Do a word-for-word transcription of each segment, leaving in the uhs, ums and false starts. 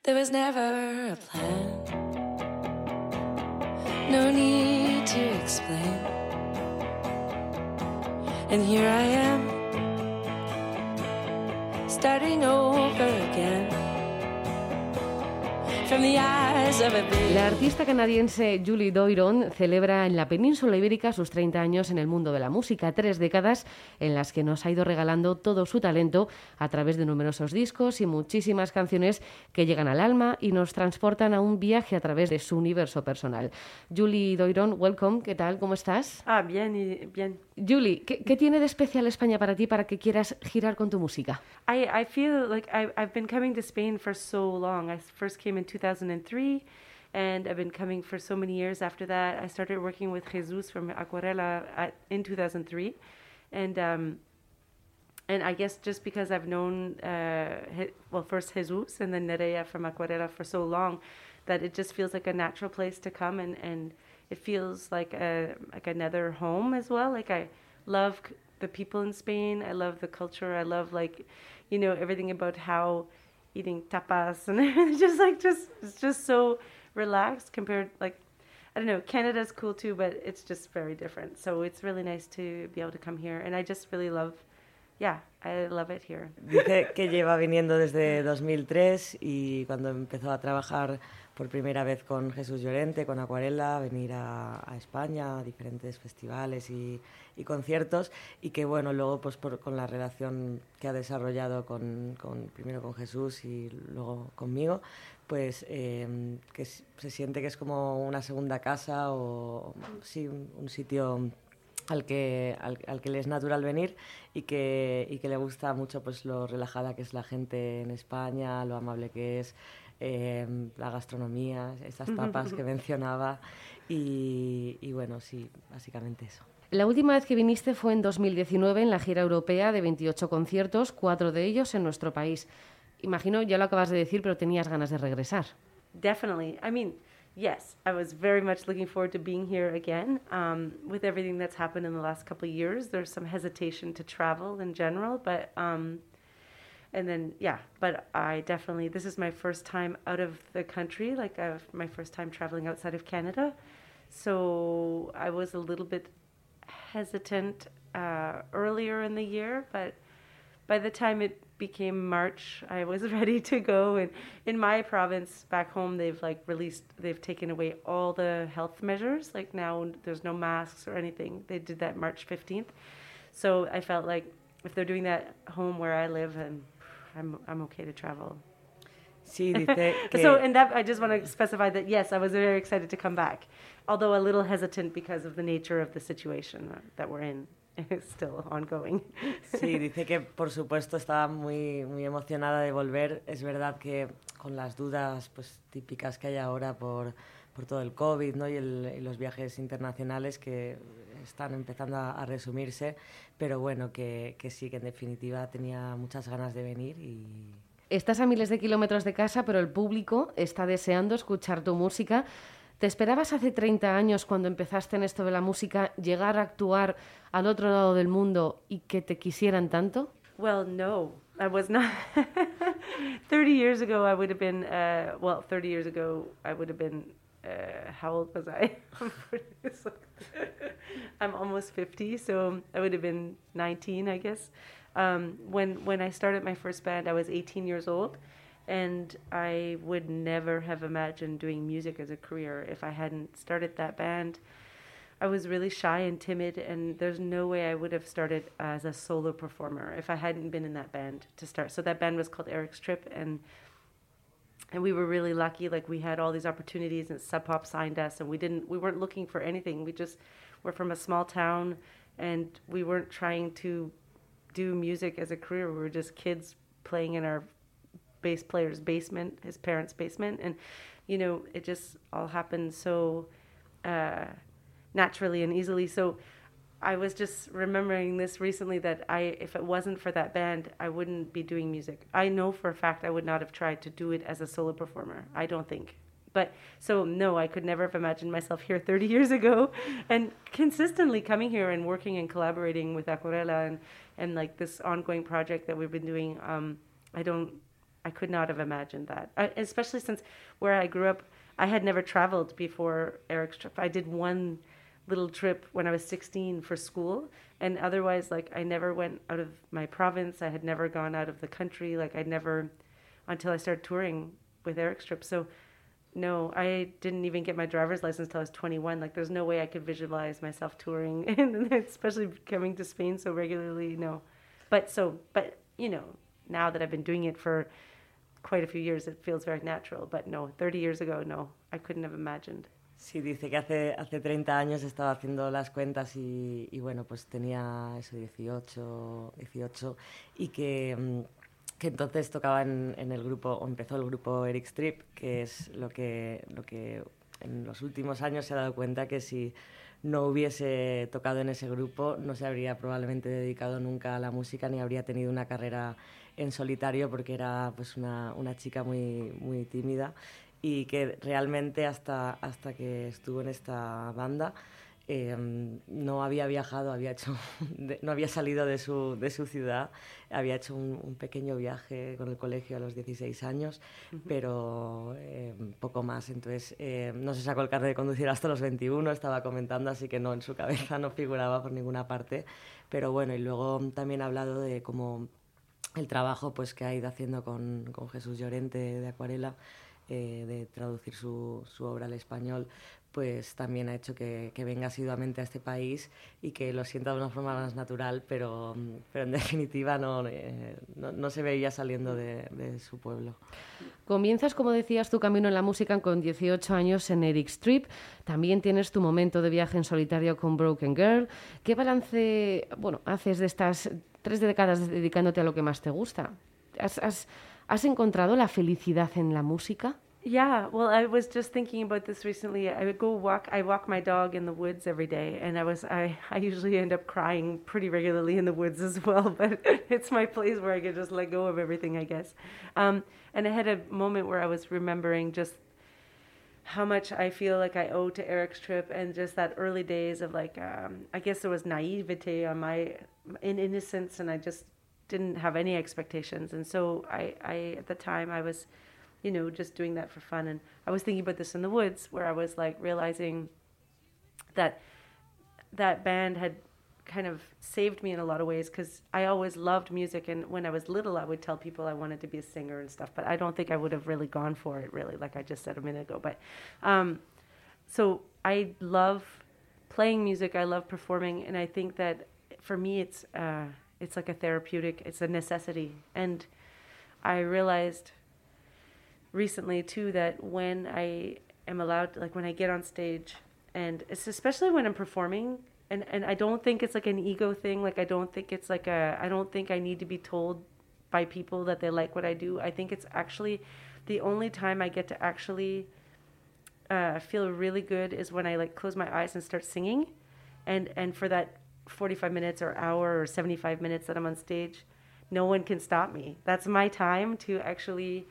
There was never a plan, no need to explain. And here I am, starting over again. La artista canadiense Julie Doiron celebra en la península ibérica sus treinta años en el mundo de la música, tres décadas en las que nos ha ido regalando todo su talento a través de numerosos discos y muchísimas canciones que llegan al alma y nos transportan a un viaje a través de su universo personal. Julie Doiron, welcome, ¿qué tal? ¿Cómo estás? Ah, bien, y bien. Julie, ¿qué, ¿qué tiene de especial España para ti para que quieras girar con tu música? I, I feel like I, I've been coming to Spain for so long. I first came in two thousand three, and I've been coming for so many years after that. I started working with Jesus from Acuarela at, in two thousand three, and um, and I guess just because I've known, uh, well, first Jesus and then Nerea from Acuarela for so long, that it just feels like a natural place to come, and, and it feels like a like another home as well. Like I love the people in Spain. I love the culture. I love like, you know, everything about how eating tapas and just like just it's just so relaxed compared, like, I don't know, Canada's cool too, but it's just very different. So it's really nice to be able to come here, and I just really love, yeah, I love it here. Dice que lleva viniendo desde dos mil tres y cuando empezó a trabajar por primera vez con Jesús Llorente, con Acuarela, venir a, a España a diferentes festivales y, y conciertos, y que bueno, luego pues por, con la relación que ha desarrollado con, con primero con Jesús y luego conmigo, pues eh, que se siente que es como una segunda casa o sí, un, un sitio al que, al, al que le es natural venir y que, y que le gusta mucho pues lo relajada que es la gente en España, lo amable que es, eh, la gastronomía, esas tapas que mencionaba y, y bueno, sí, básicamente eso. La última vez que viniste fue en dos mil diecinueve en la gira europea de veintiocho conciertos, cuatro de ellos en nuestro país. Imagino, ya lo acabas de decir, pero tenías ganas de regresar. Definitely. I mean, yes, I was very much looking forward to being here again. Um, with everything that's happened in the last couple of years, there's some hesitation to travel in general, but um, and then yeah, but I definitely, this is my first time out of the country, like I've, my first time traveling outside of Canada, so I was a little bit hesitant uh, earlier in the year, but by the time it became March, I was ready to go. And in my province back home, they've like released, they've taken away all the health measures. Like now there's no masks or anything. They did that March fifteenth. So I felt like if they're doing that home where I live, and I'm I'm okay to travel. Sí, dice que... So, and that, I just want to specify that, yes, I was very excited to come back, although a little hesitant because of the nature of the situation that we're in. It's still ongoing. Sí, dice que por supuesto estaba muy, muy emocionada de volver. Es verdad que con las dudas pues, típicas que hay ahora por, por todo el COVID, ¿no? y, el, y los viajes internacionales que están empezando a, a resumirse, pero bueno, que, que sí, que en definitiva tenía muchas ganas de venir y... Estás a miles de kilómetros de casa, pero el público está deseando escuchar tu música. ¿Te esperabas hace treinta años, cuando empezaste en esto de la música, llegar a actuar al otro lado del mundo y que te quisieran tanto? Well, no, I was not. thirty years ago, I would have been, uh, well, thirty years ago, I would have been, uh, how old was I? I'm almost fifty, so I would have been nineteen, I guess. Um, when, when I started my first band, I was eighteen years old. And I would never have imagined doing music as a career if I hadn't started that band. I was really shy and timid, and there's no way I would have started as a solo performer if I hadn't been in that band to start. So that band was called Eric's Trip, and and we were really lucky. Like, we had all these opportunities, and Sub Pop signed us, and we didn't we weren't looking for anything. We just were from a small town, and we weren't trying to do music as a career. We were just kids playing in our bass player's basement, his parents' basement, and you know, it just all happened so uh, naturally and easily. So I was just remembering this recently, that I, if it wasn't for that band, I wouldn't be doing music. I know for a fact I would not have tried to do it as a solo performer. I don't think. But so no, I could never have imagined myself here thirty years ago, and consistently coming here and working and collaborating with Acuarela and and like this ongoing project that we've been doing. Um, I don't. I could not have imagined that, I, especially since where I grew up, I had never traveled before Eric's trip. I did one little trip when I was sixteen for school, and otherwise, like, I never went out of my province. I had never gone out of the country. Like, I'd never, until I started touring with Eric's trip. So, no, I didn't even get my driver's license till I was twenty-one. Like, there's no way I could visualize myself touring, and especially coming to Spain so regularly. No, but so, but you know, now that I've been doing it for quite a few years, it feels very natural. But no, thirty years ago, no, I couldn't have imagined. Sí, dice que hace, hace treinta años estaba haciendo las cuentas y, y bueno, pues tenía eso, dieciocho, dieciocho, y que, que entonces tocaba en, en el grupo, o empezó el grupo Eric Strip, que es lo que, lo que en los últimos años se ha dado cuenta que si no hubiese tocado en ese grupo no se habría probablemente dedicado nunca a la música ni habría tenido una carrera en solitario, porque era pues una, una chica muy, muy tímida, y que realmente hasta, hasta que estuvo en esta banda eh, no había viajado, había hecho, de, no había salido de su, de su ciudad, había hecho un, un pequeño viaje con el colegio a los dieciséis años, uh-huh. pero eh, poco más. Entonces eh, no se sacó el carnet de conducir hasta los veintiuno, estaba comentando, así que no, en su cabeza no figuraba por ninguna parte. Pero bueno, y luego también ha hablado de cómo el trabajo pues, que ha ido haciendo con, con Jesús Llorente de Acuarela, Eh, de traducir su, su obra al español, pues también ha hecho que, que venga asiduamente a este país y que lo sienta de una forma más natural, pero, pero en definitiva no, eh, no, no se veía saliendo de, de su pueblo. Comienzas, como decías, tu camino en la música con dieciocho años en Eric Strip. También tienes tu momento de viaje en solitario con Broken Girl. ¿Qué balance, bueno, haces de estas tres décadas dedicándote a lo que más te gusta? ¿Has, has, ¿Has encontrado la felicidad en la música? Yeah, well, I was just thinking about this recently. I would go walk, I walk my dog in the woods every day, and I was, I, I usually end up crying pretty regularly in the woods as well, but it's my place where I can just let go of everything, I guess. Um, and I had a moment where I was remembering just how much I feel like I owe to Eric's trip, and just that early days of like, um, I guess there was naivete on my, in innocence, and I just didn't have any expectations. And so I, I, at the time I was, you know, just doing that for fun. And I was thinking about this in the woods, where I was like realizing that that band had kind of saved me in a lot of ways, because I always loved music. And when I was little, I would tell people I wanted to be a singer and stuff, but I don't think I would have really gone for it, really, like I just said a minute ago. But um, so I love playing music. I love performing. And I think that for me, it's, uh, it's like a therapeutic, it's a necessity. And I realized recently too that when I am allowed, like when I get on stage, and it's especially when I'm performing, and, and I don't think it's like an ego thing, like I don't think it's like a, I don't think I need to be told by people that they like what I do. I think it's actually the only time I get to actually uh, feel really good is when I like close my eyes and start singing. And, and for that forty-five minutes or hour or seventy-five minutes that I'm on stage, no one can stop me. That's my time to actually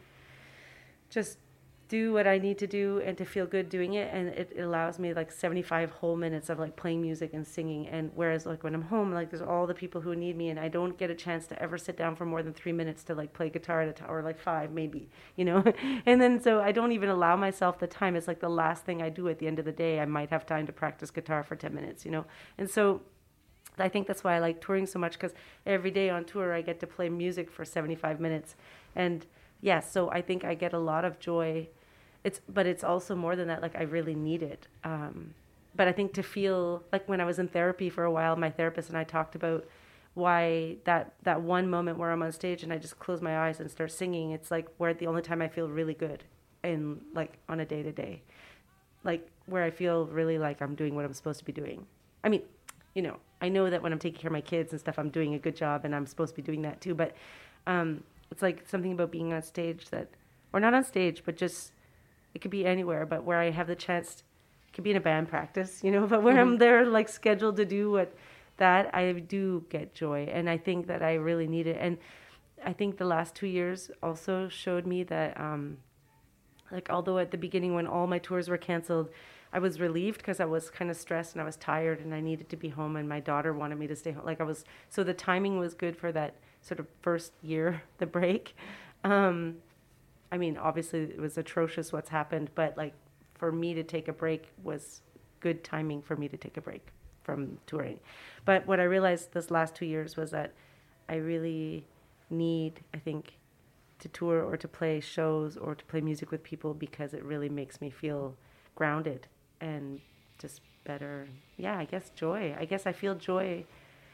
just do what I need to do and to feel good doing it. And it, it allows me like seventy-five whole minutes of like playing music and singing. And whereas like when I'm home, like there's all the people who need me, and I don't get a chance to ever sit down for more than three minutes to like play guitar at a time, or like five maybe, you know. And then so I don't even allow myself the time. It's like the last thing I do at the end of the day. I might have time to practice guitar for ten minutes, you know. And so I think that's why I like touring so much, because every day on tour I get to play music for seventy-five minutes. And yes, so I think I get a lot of joy. It's, but it's also more than that, like I really need it. Um, but I think to feel, like when I was in therapy for a while, my therapist and I talked about why that, that one moment where I'm on stage and I just close my eyes and start singing, it's like where the only time I feel really good in like on a day to day, like where I feel really like I'm doing what I'm supposed to be doing. I mean, you know, I know that when I'm taking care of my kids and stuff, I'm doing a good job, and I'm supposed to be doing that too. But um, it's like something about being on stage that, or not on stage, but just, it could be anywhere, but where I have the chance, it could be in a band practice, you know, but where mm-hmm. I'm there like scheduled to do what, that I do get joy. And I think that I really need it. And I think the last two years also showed me that, um, like, although at the beginning when all my tours were canceled, I was relieved because I was kind of stressed and I was tired and I needed to be home, and my daughter wanted me to stay home. Like I was, so the timing was good for that sort of first year, the break. Um, I mean, obviously it was atrocious what's happened, but like for me to take a break was good timing for me to take a break from touring. But what I realized this last two years was that I really need, I think, to tour or to play shows or to play music with people because it really makes me feel grounded and just better. Yeah, I guess joy. I guess I feel joy,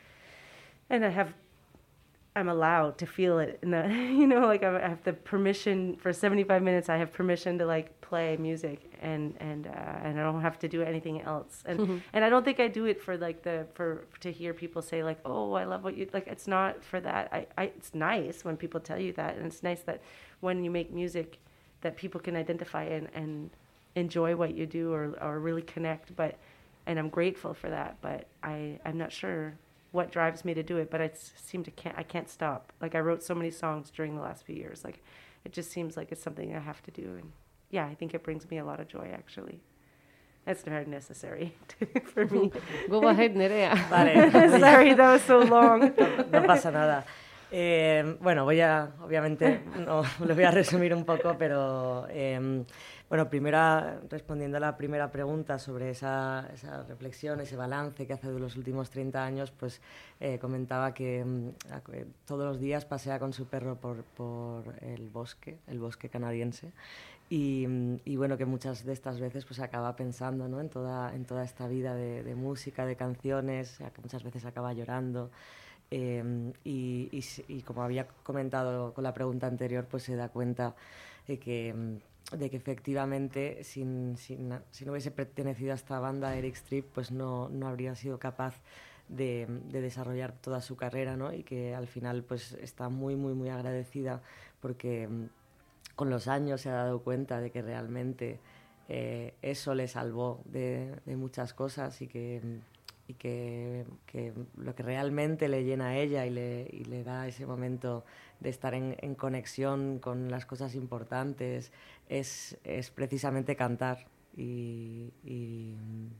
and I have, I'm allowed to feel it in the, you know, like I have the permission for seventy-five minutes. I have permission to like play music, and and uh, and I don't have to do anything else. And mm-hmm. and I don't think I do it for like the for to hear people say like, oh, I love what you like. It's not for that. I, I it's nice when people tell you that, and it's nice that when you make music, that people can identify and and enjoy what you do or or really connect. But and I'm grateful for that. But I I'm not sure what drives me to do it, but I seem to can't I can't stop. Like I wrote so many songs during the last few years. Like it just seems like it's something I have to do, and yeah, I think it brings me a lot of joy actually. That's very necessary for me. Go ahead, Nerea. Vale. Sorry, that was so long. No, no pasa nada. Eh, bueno, voy a, obviamente, no, lo voy a resumir un poco, pero eh, bueno, primero respondiendo a la primera pregunta sobre esa, esa reflexión, ese balance que hace de los últimos treinta años, pues eh, comentaba que eh, todos los días pasea con su perro por, por el bosque, el bosque canadiense, y, y bueno, que muchas de estas veces pues acaba pensando, ¿no?, en toda, en toda esta vida de, de música, de canciones, que muchas veces acaba llorando. Eh, y, y, y como había comentado con la pregunta anterior, pues se da cuenta de que, de que efectivamente sin, sin, si no hubiese pertenecido a esta banda Eric Strip, pues no, no habría sido capaz de, de desarrollar toda su carrera, ¿no? Y que al final pues está muy muy muy agradecida porque con los años se ha dado cuenta de que realmente eh, eso le salvó de, de muchas cosas y que y que, que lo que realmente le llena a ella y le, y le da ese momento de estar en, en conexión con las cosas importantes es, es precisamente cantar y, y,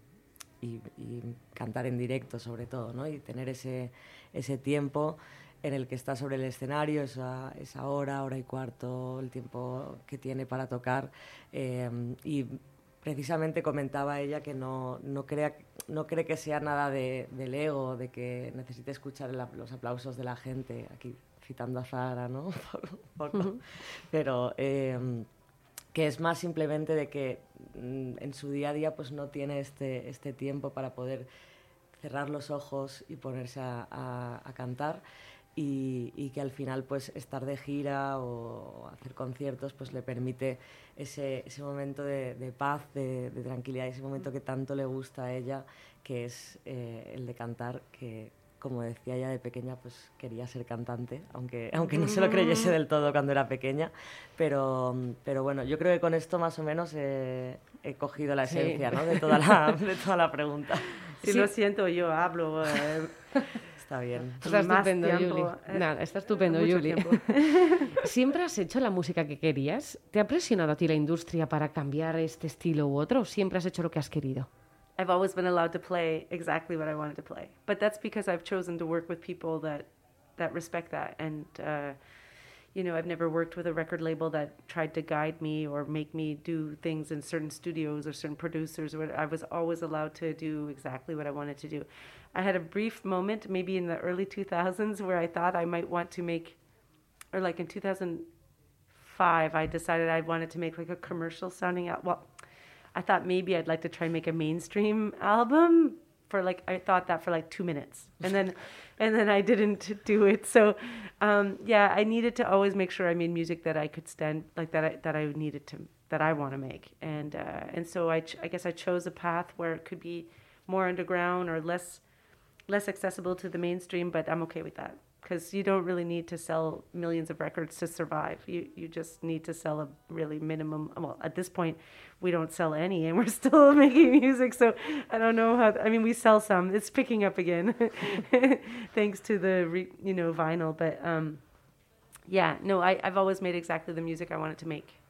y, y cantar en directo sobre todo, ¿no? Y tener ese, ese tiempo en el que está sobre el escenario, esa, esa hora, hora y cuarto, el tiempo que tiene para tocar eh, y precisamente comentaba ella que no, no, crea, no cree que sea nada de, del ego, de que necesite escuchar el, los aplausos de la gente, aquí citando a Zahara, ¿no? Por, por, uh-huh. Pero eh, que es más simplemente de que mm, en su día a día pues no tiene este, este tiempo para poder cerrar los ojos y ponerse a, a, a cantar. Y, y que al final pues estar de gira o hacer conciertos pues le permite ese, ese momento de, de paz, de, de tranquilidad, ese momento que tanto le gusta a ella, que es eh, el de cantar, que como decía ella de pequeña pues quería ser cantante, aunque, aunque no se lo creyese del todo cuando era pequeña, pero, pero bueno, yo creo que con esto más o menos eh, he cogido la esencia, sí, ¿no?, de, toda la, de toda la pregunta. Si sí. Lo siento, yo hablo... Eh. Está bien. Está estupendo, Juli. Eh, Nada, está estupendo, Juli. ¿Siempre has hecho la música que querías? ¿Te ha presionado a ti la industria para cambiar este estilo u otro? ¿O siempre has hecho lo que has querido? I've always been allowed to play exactly what I wanted to play. But that's because I've chosen to work with people that, that respect that. And, uh, you know, I've never worked with a record label that tried to guide me or make me do things in certain studios or certain producers. Or I was always allowed to do exactly what I wanted to do. I had a brief moment, maybe in the early two thousands, where I thought I might want to make, or like in two thousand five, I decided I wanted to make like a commercial sounding out. Well, I thought maybe I'd like to try and make a mainstream album for like, I thought that for like two minutes. And then, and then I didn't do it. So, um, yeah, I needed to always make sure I made music that I could stand, like that I, that I needed to, that I want to make. And, uh, and so I, ch- I guess I chose a path where it could be more underground or less, less accessible to the mainstream, but I'm okay with that because you don't really need to sell millions of records to survive. You you just need to sell a really minimum. Well, at this point, we don't sell any, and we're still making music. So I don't know how. I mean, we sell some. It's picking up again, thanks to the re, you know vinyl. But um, yeah, no, I, I've always made exactly the music I wanted to make.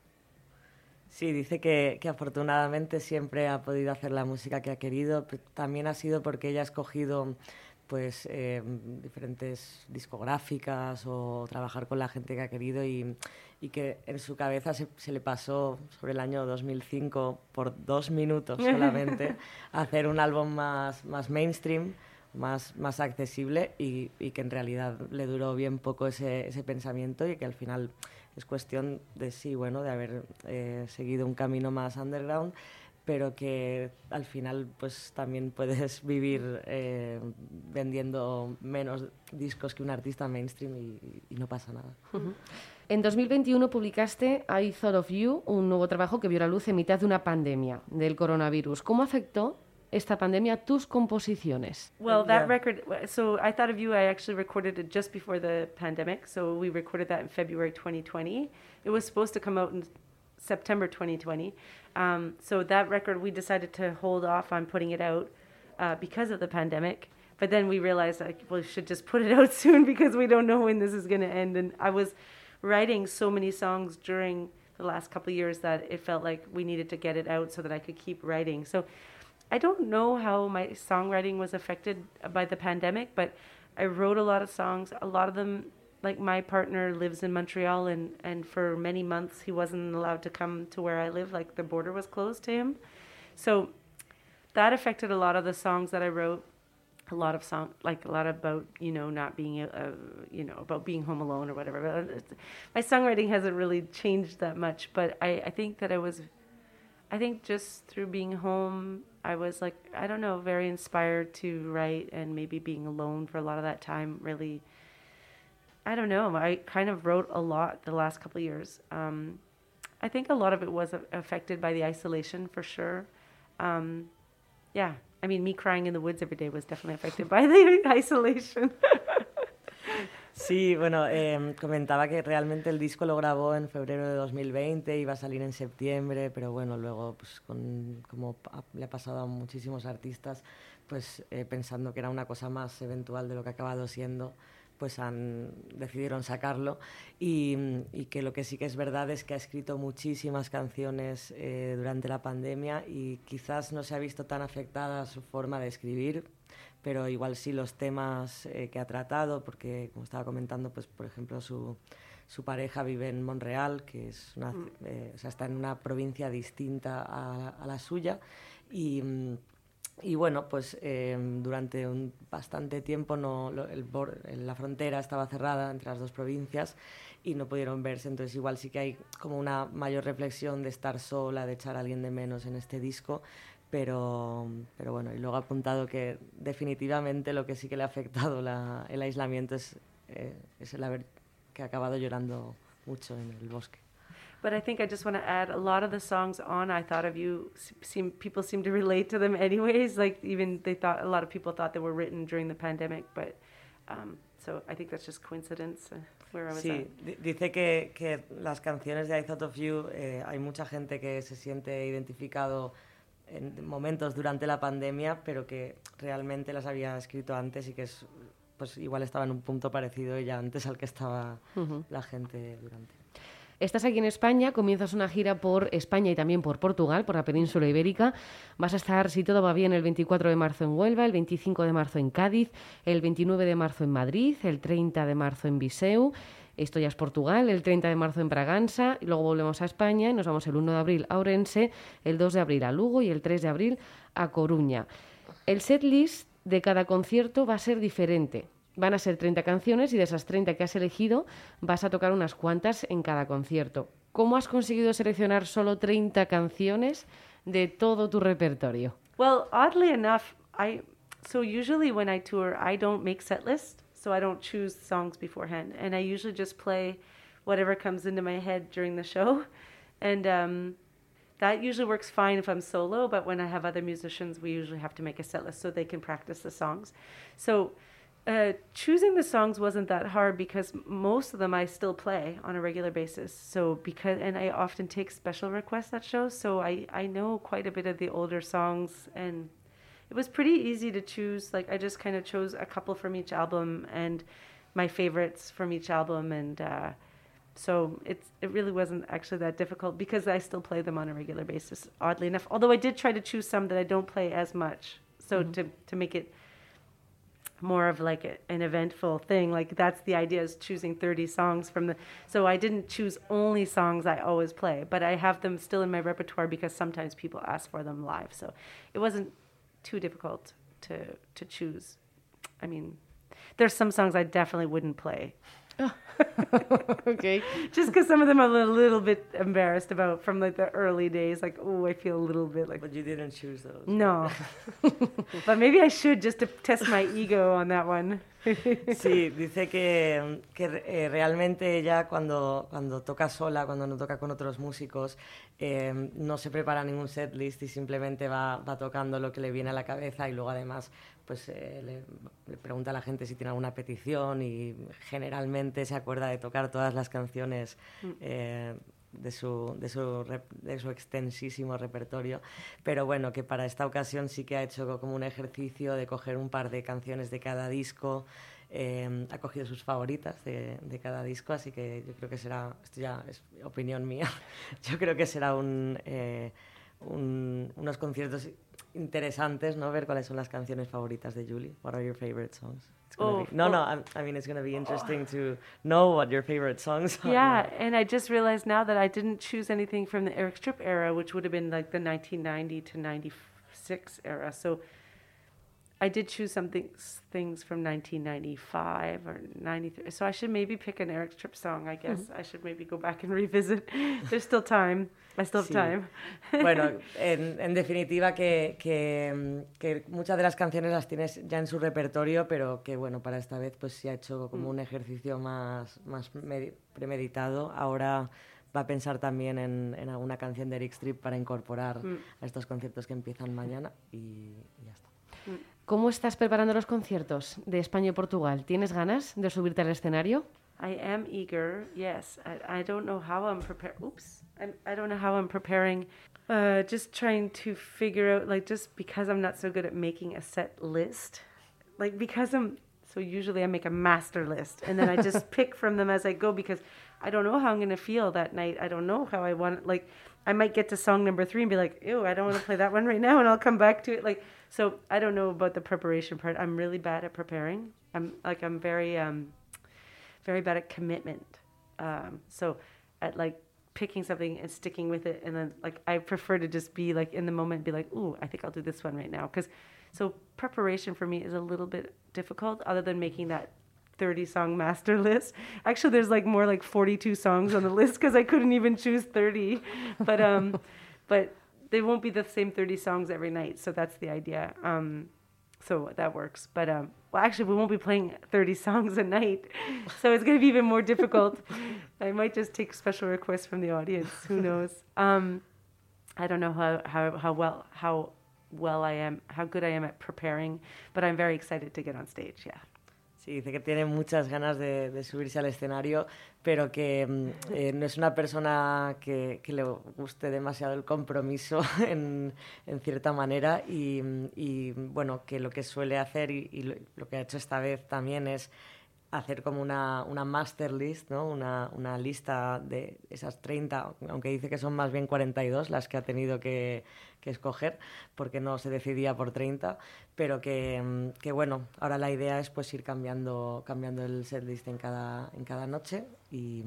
Sí, dice que, que afortunadamente siempre ha podido hacer la música que ha querido. También ha sido porque ella ha escogido pues eh, diferentes discográficas o trabajar con la gente que ha querido y, y que en su cabeza se, se le pasó sobre el año dos mil cinco por dos minutos solamente hacer un álbum más, más mainstream, más, más accesible y, y que en realidad le duró bien poco ese, ese pensamiento y que al final es cuestión de sí, bueno, de haber eh, seguido un camino más underground, pero que al final pues también puedes vivir eh, vendiendo menos discos que un artista mainstream y, y no pasa nada. Uh-huh. En dos mil veintiuno publicaste I Thought of You, un nuevo trabajo que vio la luz en mitad de una pandemia del coronavirus. ¿Cómo afectó esta pandemia a tus composiciones? Well, that Yeah. record, so I Thought of You, I actually recorded it just before the pandemic. So we recorded that in February twenty twenty. It was supposed to come out in September twenty twenty. Um, so that record, we decided to hold off on putting it out uh, because of the pandemic. But then we realized, like, well, we should just put it out soon because we don't know when this is going to end. And I was writing so many songs during the last couple of years that it felt like we needed to get it out so that I could keep writing. So I don't know how my songwriting was affected by the pandemic, but I wrote a lot of songs. A lot of them, like my partner lives in Montreal, and, and for many months he wasn't allowed to come to where I live, like the border was closed to him. So that affected a lot of the songs that I wrote. A lot of song, like a lot about, you know, not being, uh, you know, about being home alone or whatever. But it's, my songwriting hasn't really changed that much, but I, I think that I was, I think just through being home, I was like, I don't know, very inspired to write, and maybe being alone for a lot of that time really, I don't know, I kind of wrote a lot the last couple of years. Um, I think a lot of it was affected by the isolation for sure. Um, yeah. I mean, me crying in the woods every day was definitely affected by the isolation. Sí, bueno, eh, comentaba que realmente el disco lo grabó en febrero de dos mil veinte, iba a salir en septiembre, pero bueno, luego, pues con, como pa- le ha pasado a muchísimos artistas, pues eh, pensando que era una cosa más eventual de lo que ha acabado siendo, pues han, decidieron sacarlo y, y que lo que sí que es verdad es que ha escrito muchísimas canciones eh, durante la pandemia y quizás no se ha visto tan afectada su forma de escribir, pero igual sí los temas eh, que ha tratado, porque como estaba comentando, pues por ejemplo su, su pareja vive en Montreal, que es una, eh, o sea, está en una provincia distinta a, a la suya y... Y bueno, pues eh, durante un bastante tiempo no, lo, el bor, la frontera estaba cerrada entre las dos provincias y no pudieron verse, entonces igual sí que hay como una mayor reflexión de estar sola, de echar a alguien de menos en este disco, pero, pero bueno, y luego ha apuntado que definitivamente lo que sí que le ha afectado la, el aislamiento es, eh, es el haber que ha acabado llorando mucho en el bosque. But I think I just want to add, a lot of the songs on I Thought of You seem, people seem to relate to them anyways. Like even they thought, a lot of people thought they were written during the pandemic, but um, so I think that's just coincidence uh, where I was Sí, at. di- dice que, que las canciones de I Thought of You, eh, hay mucha gente que se siente identificado en momentos durante la pandemia, pero que realmente las había escrito antes y que es, pues igual estaba en un punto parecido ya antes al que estaba Uh-huh. la gente durante. Estás aquí en España, comienzas una gira por España y también por Portugal, por la península ibérica. Vas a estar, si todo va bien, el veinticuatro de marzo en Huelva, el veinticinco de marzo en Cádiz, el veintinueve de marzo en Madrid, el treinta de marzo en Viseu. Esto ya es Portugal, el treinta de marzo en Braganza, y luego volvemos a España y nos vamos el uno de abril a Ourense, el dos de abril a Lugo y el tres de abril a Coruña. El setlist de cada concierto va a ser diferente. Van a ser treinta canciones y de esas treinta que has elegido vas a tocar unas cuantas en cada concierto. ¿Cómo has conseguido seleccionar solo treinta canciones de todo tu repertorio? Well, oddly enough, I so usually when I tour, I don't make set lists, so I don't choose songs beforehand, and I usually just play whatever comes into my head during the show, and um, that usually works fine if I'm solo. But when I have other musicians, we usually have to make a set list so they can practice the songs. So. Uh, choosing the songs wasn't that hard because most of them I still play on a regular basis. So because and I often take special requests at shows, so I, I know quite a bit of the older songs, and it was pretty easy to choose. Like I just kind of chose a couple from each album and my favorites from each album, and uh, so it's it really wasn't actually that difficult because I still play them on a regular basis. Oddly enough, although I did try to choose some that I don't play as much, so mm-hmm. to to make it more of like a, an eventful thing. Like that's the idea, is choosing thirty songs from the, so I didn't choose only songs I always play, but I have them still in my repertoire because sometimes people ask for them live. So it wasn't too difficult to, to choose. I mean, there's some songs I definitely wouldn't play. Okay. Just because some of them I'm a little bit embarrassed about from like the early days. Like, oh, I feel a little bit like... But you didn't choose those. No. But maybe I should, just to test my ego on that one. Sí, dice que, que eh, realmente ella cuando, cuando toca sola, cuando no toca con otros músicos, eh, no se prepara ningún setlist y simplemente va, va tocando lo que le viene a la cabeza, y luego además pues eh, le, le pregunta a la gente si tiene alguna petición, y generalmente se acuerda de tocar todas las canciones eh, de su, de, su rep, de su extensísimo repertorio. Pero bueno, que para esta ocasión sí que ha hecho como un ejercicio de coger un par de canciones de cada disco. Eh, ha cogido sus favoritas de, de cada disco, así que yo creo que será, esto ya es opinión mía, yo creo que será un, eh, un, unos conciertos interesantes, ¿no? Ver cuáles son las canciones favoritas de Julie. What are your favorite songs? It's gonna Oh, be, no, oh. no, I, I mean, it's going to be interesting oh. to know what your favorite songs are. Yeah, and I just realized now that I didn't choose anything from the Eric Stripp era, which would have been like the nineteen ninety to ninety-six era. So I did choose some things, things from nineteen ninety-five or ninety-three. So I should maybe pick an Eric Stripp song, I guess. Mm-hmm. I should maybe go back and revisit. There's still time. I still have sí. time. Bueno, en, en definitiva que, que, que muchas de las canciones las tienes ya en su repertorio, pero que bueno, para esta vez pues sí ha hecho como mm. un ejercicio más, más med- premeditado. Ahora va a pensar también en, en alguna canción de Eric Stripp para incorporar mm. a estos conciertos que empiezan mañana, y, y ya está. ¿Cómo estás preparando los conciertos de España y Portugal? ¿Tienes ganas de subirte al escenario? I am eager, yes. I, I don't know how I'm preparing. Oops. I'm, I don't know how I'm preparing. Uh, just trying to figure out, like, just because I'm not so good at making a set list. Like, because I'm, so usually I make a master list, and then I just pick from them as I go, because I don't know how I'm going to feel that night. I don't know how I want, like, I might get to song number three and be like, ew, I don't want to play that one right now, and I'll come back to it. Like, so I don't know about the preparation part. I'm really bad at preparing. I'm, like, I'm very... um. very bad at commitment. Um, so at like picking something and sticking with it, and then like I prefer to just be like in the moment, be like, ooh, I think I'll do this one right now. Because so preparation for me is a little bit difficult, other than making that thirty song master list. Actually, there's like more like forty-two songs on the list because I couldn't even choose thirty. But um, but they won't be the same thirty songs every night. So that's the idea. Um, so that works. But um, well, actually, we won't be playing thirty songs a night, so it's going to be even more difficult. I might just take special requests from the audience. Who knows? Um, I don't know how, how, how well how well I am, how good I am at preparing, but I'm very excited to get on stage. Yeah. Sí, dice que tiene muchas ganas de, de subirse al escenario, pero que eh, no es una persona que, que le guste demasiado el compromiso en, en cierta manera, y, y bueno, que lo que suele hacer y, y lo, lo que ha hecho esta vez también es hacer como una, una master list, ¿no? Una, una lista de esas treinta, aunque dice que son más bien cuarenta y dos las que ha tenido que, que escoger, porque no se decidía por treinta, pero que, que bueno, ahora la idea es pues ir cambiando, cambiando el setlist en cada, en cada noche, y,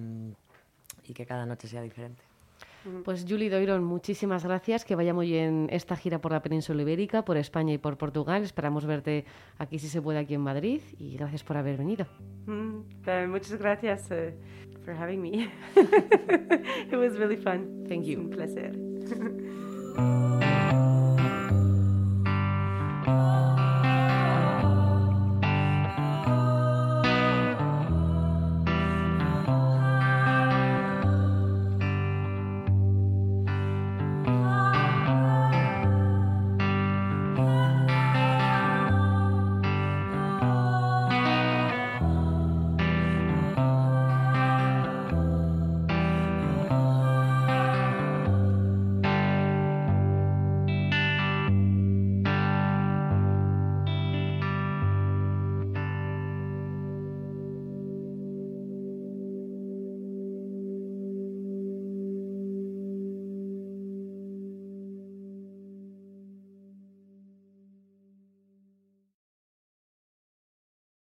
y que cada noche sea diferente. Pues Julie Doiron, muchísimas gracias, que vaya muy bien esta gira por la península ibérica, por España y por Portugal. Esperamos verte aquí, si se puede, aquí en Madrid, y gracias por haber venido. Mm, uh, muchas gracias uh, for having me. It was really fun. Thank you. Un placer.